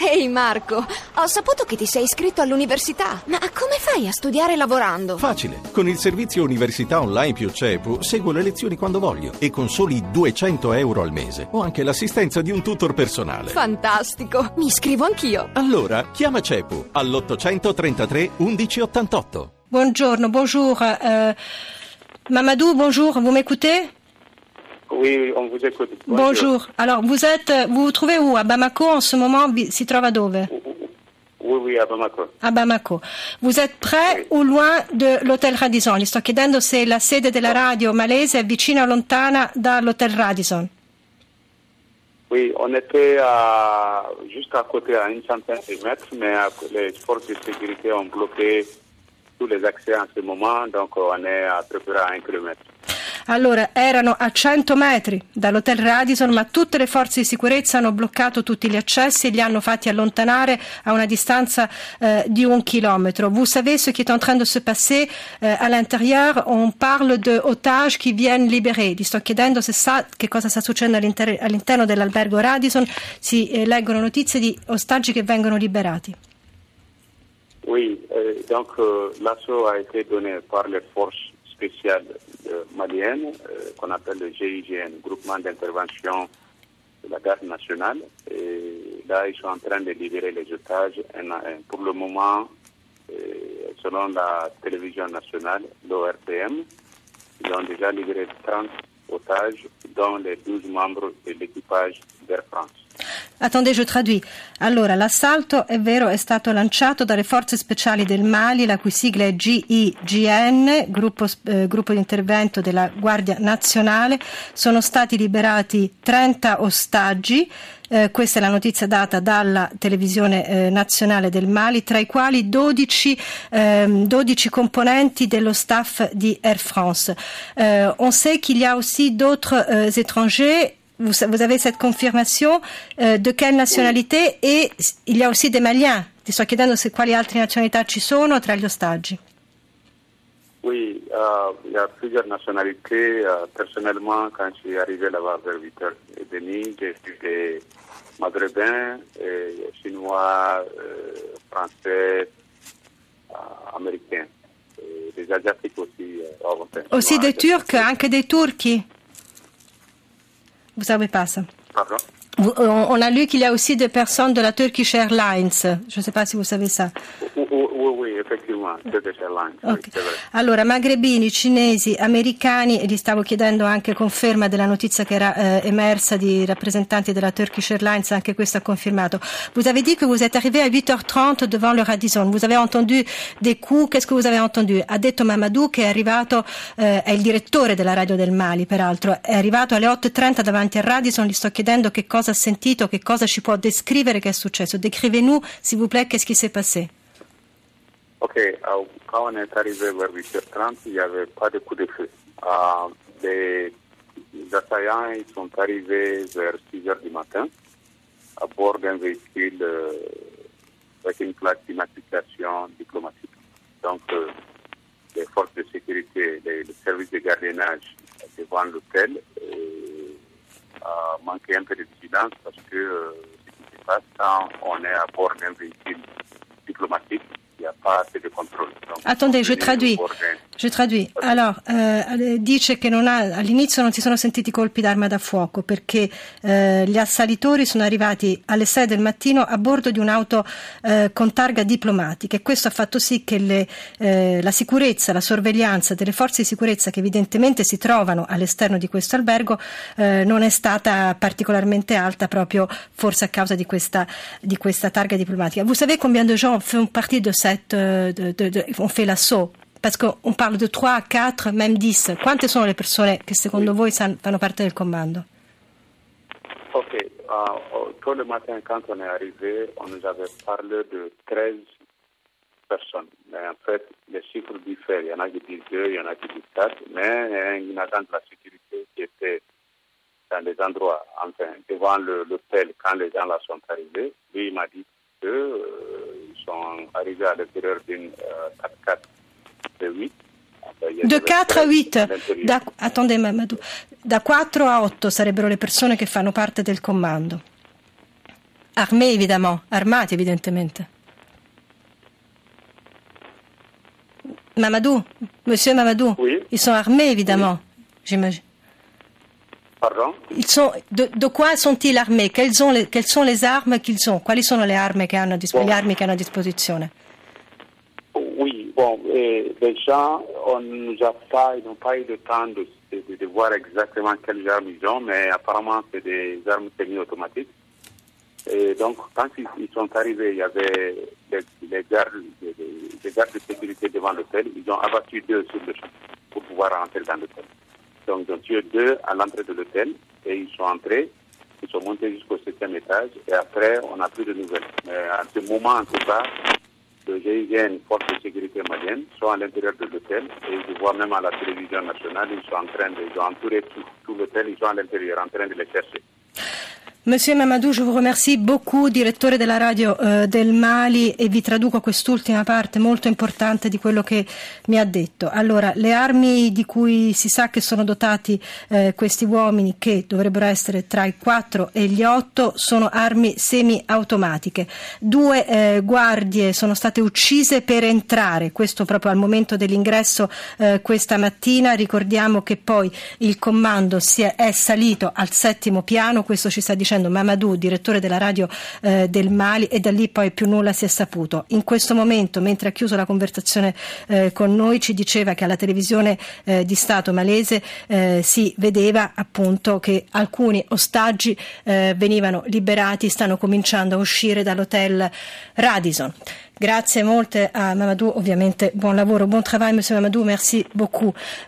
Ehi Marco, ho saputo che ti sei iscritto all'università. Ma come fai a studiare lavorando? Facile. Con il servizio Università Online più CEPU seguo le lezioni quando voglio e con soli 200 euro al mese ho anche l'assistenza di un tutor personale. Fantastico, mi iscrivo anch'io. Allora, chiama CEPU all'833 1188. Bonjour. Mamadou, bonjour, vous m'écoutez? Oui, on vous écoute. Bonjour. Alors, vous vous trouvez où? À Bamako en ce moment? Si trova dove? Oui, à Bamako. A Bamako. Vous êtes près o loin de l'Hotel Radisson? Gli sto chiedendo se la sede della radio malese è vicina o lontana dall'Hotel Radisson. Oui, on était juste à côté, à une centaine de mètres, mais les forces de sécurité ont bloqué tous les accès en ce moment, donc on est à peu près à 1 kilomètre. Allora, erano a 100 metri dall'Hotel Radisson, ma tutte le forze di sicurezza hanno bloccato tutti gli accessi e li hanno fatti allontanare a una distanza di 1 chilometro. Vous savez ce qui est en train de se passer à l'intérieur? On parle de otages qui viennent libérés. Gli sto chiedendo se sa che cosa sta succedendo all'interno dell'albergo Radisson. Si leggono notizie di ostaggi che vengono liberati. Oui, donc l'assaut a été donné par les forces spéciales maliennes, qu'on appelle le GIGN, Groupement d'intervention de la garde nationale. Et là, ils sont en train de libérer les otages. Pour le moment, selon la télévision nationale, l'ORTM, ils ont déjà libéré 30 otages, dont les 12 membres de l'équipage d'Air France. Attendez, je traduis. Allora, l'assalto, è vero, è stato lanciato dalle forze speciali del Mali, la cui sigla è GIGN, gruppo di intervento della Guardia Nazionale. Sono stati liberati 30 ostaggi. Questa è la notizia data dalla televisione nazionale del Mali, tra i quali 12 componenti dello staff di Air France. On sait qu'il y a aussi d'autres étrangers. Vous avez cette confirmation de quelle nationalité? Et il y a aussi des Maliens. Ti sto chiedendo quali altre nazionalità ci sono tra gli ostaggi. Oui, il y a plusieurs nationalités. Personnellement, quand je suis arrivé là-bas vers 8h30, j'ai vu des Maghrébins, Chinois, Français, Américains. Des Asiatiques aussi. Aussi des Turcs, anche dei turchi? Vous savez pas ça? Pardon? On a lu qu'il y a aussi des personnes de la Turkish Airlines. Je ne sais pas si vous savez ça. Oui, effectivement, Turkish Airlines. Okay. Allora, magrebini, cinesi, americani, e gli stavo chiedendo anche conferma della notizia che era emersa di rappresentanti della Turkish Airlines, anche questo ha confermato. Vous avez dit que vous êtes arrivé à 8h30 devant le Radisson. Vous avez entendu des coups, qu'est-ce que vous avez entendu? Ha detto Mamadou che è arrivato, è il direttore della radio del Mali, peraltro, è arrivato alle 8:30 davanti al Radisson. Gli sto chiedendo che cosa ha sentito, che cosa ci può descrivere che è successo. Décrivez-nous, s'il vous plaît, qu'est-ce qui s'est passé? Ok, quand on est arrivé vers 8h30, il n'y avait pas de coup de feu. Les assaillants ils sont arrivés vers 6h du matin à bord d'un véhicule avec une plaque d'immatriculation diplomatique. Donc, les forces de sécurité, les services de gardiennage devant l'hôtel manquaient un peu de vigilance parce que ce qui se passe quand on est à bord d'un véhicule diplomatique, il n'y a pas assez de contrôle. Donc, attendez, je traduis. Allora, dice che all'inizio non si sono sentiti colpi d'arma da fuoco perché gli assalitori sono arrivati alle 6 del mattino a bordo di un'auto con targa diplomatica e questo ha fatto sì che la sicurezza, la sorveglianza delle forze di sicurezza che evidentemente si trovano all'esterno di questo albergo non è stata particolarmente alta proprio forse a causa di questa targa diplomatica. Vous savez combien de gens font partie de ont fait l'assaut? Parce qu'on parle de 3, 4, même 10. Quante sono le persone che secondo voi fanno parte del comando? Ok, tôt le matin quand on est arrivé, on nous avait parlé de 13 personnes. Mais en fait, les chiffres diffèrent. Il y en a qui disent 2, il y en a qui disent 4. Mais il y a un agent de la sécurité qui était dans les endroits, enfin, devant l'hôtel quand les gens là sont arrivés. Lui, il m'a dit qu'ils sont arrivés à l'intérieur d'une 4x4 de 8. De 4 a 8, attendez Mamadou, da 4 a 8 sarebbero le persone che fanno parte del comando. armés évidemment, armati evidentemente. Mamadou, monsieur Mamadou, oui. Ils sont armés évidemment, oui. J'imagine. Pardon? De quoi sont-ils armés? Quelles sont les armes qu'ils ont? Quali sono le armi che hanno a disposizione? Oui, bon, déjà, ils n'ont pas eu le temps de voir exactement quelles armes ils ont, mais apparemment c'est des armes semi-automatiques. Et donc, quand ils sont arrivés, il y avait des gardes de sécurité devant l'hôtel. Ils ont abattu 2 sur le champ pour pouvoir rentrer dans l'hôtel. Donc, ils ont tué 2 à l'entrée de l'hôtel et ils sont entrés, ils sont montés jusqu'au 7e étage et après, on n'a plus de nouvelles. Mais à ce moment, en tout cas, le GIGN, force de sécurité malienne, sont à l'intérieur de l'hôtel et je vois même à la télévision nationale, ils ont entouré tout l'hôtel, ils sont à l'intérieur en train de les chercher. Monsieur Mamadou, je vous remercie beaucoup, direttore della radio del Mali, e vi traduco quest'ultima parte molto importante di quello che mi ha detto. Allora, le armi di cui si sa che sono dotati questi uomini, che dovrebbero essere tra i 4 e gli 8, sono armi semi-automatiche. 2 guardie sono state uccise per entrare, questo proprio al momento dell'ingresso questa mattina. Ricordiamo che poi il comando è salito al 7° piano, questo ci sta dicendo Mamadou, direttore della radio del Mali, e da lì poi più nulla si è saputo. In questo momento, mentre ha chiuso la conversazione con noi, ci diceva che alla televisione di Stato malese si vedeva appunto che alcuni ostaggi venivano liberati, stanno cominciando a uscire dall'hotel Radisson. Grazie molte a Mamadou, ovviamente buon lavoro, bon travail monsieur Mamadou, merci beaucoup.